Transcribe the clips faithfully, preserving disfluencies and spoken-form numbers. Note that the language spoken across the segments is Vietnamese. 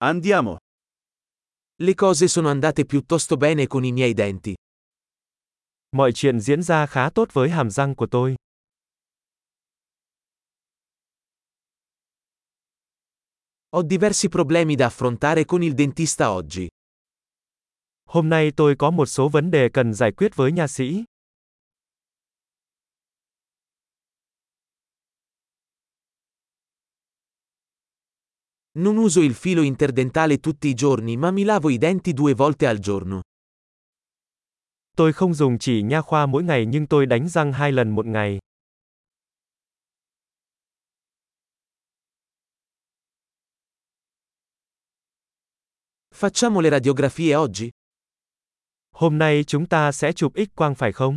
Andiamo. Le cose sono andate piuttosto bene con i miei denti. Mọi chuyện diễn ra khá tốt với hàm răng của tôi. Ho diversi problemi da affrontare con il dentista oggi. Hôm nay tôi có một số vấn đề cần giải quyết với nha sĩ. Non uso il filo interdentale tutti i giorni, ma mi lavo i denti due volte al giorno. Tôi không dùng chỉ nha khoa mỗi ngày nhưng tôi đánh răng hai lần một ngày. Facciamo le radiografie oggi? Hôm nay chúng ta sẽ chụp X quang phải không?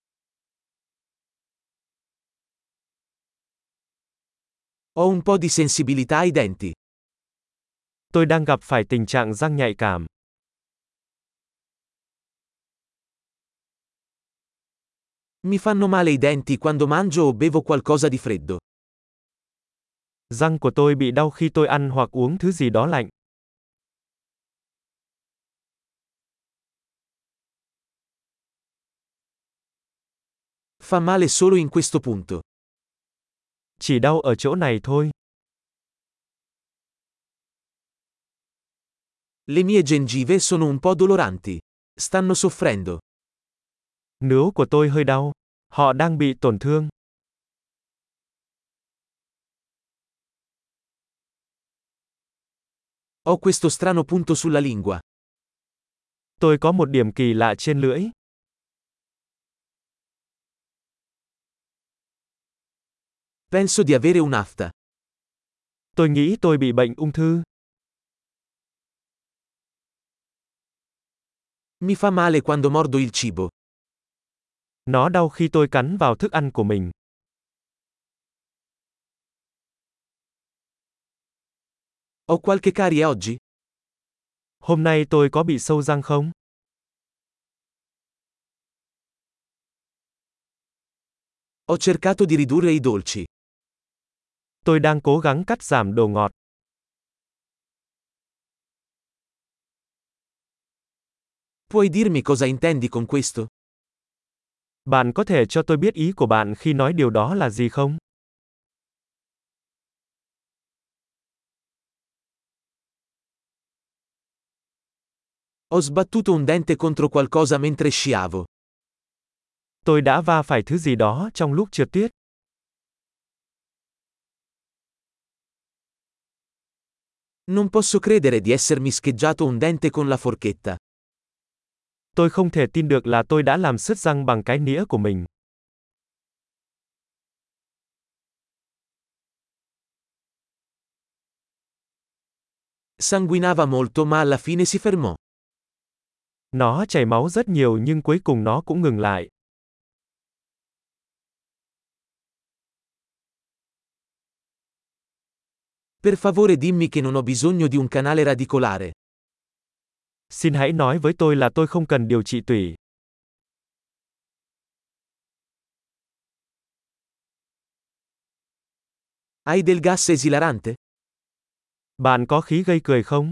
Ho un po' di sensibilità ai denti. Tôi đang gặp phải tình trạng răng nhạy cảm. Mi fanno male i denti quando mangio o bevo qualcosa di freddo. Răng của tôi bị đau khi tôi ăn hoặc uống thứ gì đó lạnh. Fa male solo in questo punto. Chỉ đau ở chỗ này thôi. Le mie gengive sono un po' doloranti. Stanno soffrendo. Nướu của tôi hơi đau. Họ đang bị tổn thương. Ho questo strano punto sulla lingua. Tôi có một điểm kỳ lạ trên lưỡi. Penso di avere un'afta. Tôi nghĩ tôi bị bệnh ung thư. Mi fa male quando mordo il cibo. Nó đau khi tôi cắn vào thức ăn của mình. Ho qualche carie oggi? Hôm nay tôi có bị sâu răng không? Ho cercato di ridurre i dolci. Tôi đang cố gắng cắt giảm đồ ngọt. Puoi dirmi cosa intendi con questo? Bạn có thể cho tôi biết ý của bạn khi nói điều đó là gì không? Ho sbattuto un dente contro qualcosa mentre sciavo. Tôi đã va phải thứ gì đó trong lúc trượt tuyết. Non posso credere di essermi scheggiato un dente con la forchetta. Tôi không thể tin được là tôi đã làm sứt răng bằng cái nĩa của mình. Sanguinava molto ma alla fine si fermò. Nó chảy máu rất nhiều nhưng cuối cùng nó cũng ngừng lại. Per favore dimmi che non ho bisogno di un canale radicolare. Xin hãy nói với tôi là tôi không cần điều trị tủy. Hai del gas esilarante? Bạn có khí gây cười không?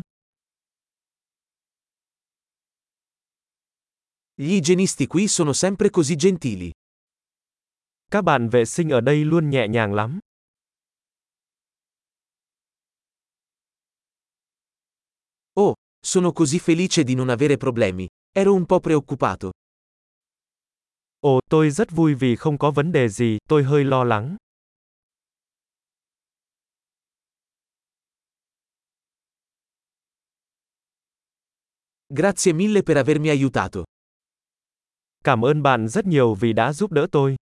Gli igienisti qui sono sempre così gentili. Các bạn vệ sinh ở đây luôn nhẹ nhàng lắm. Oh, sono così felice di non avere problemi. Ero un po' preoccupato. Ồ, tôi rất vui vì không có vấn đề gì, tôi hơi lo lắng. Grazie mille per avermi aiutato. Cảm ơn bạn rất nhiều vì đã giúp đỡ tôi.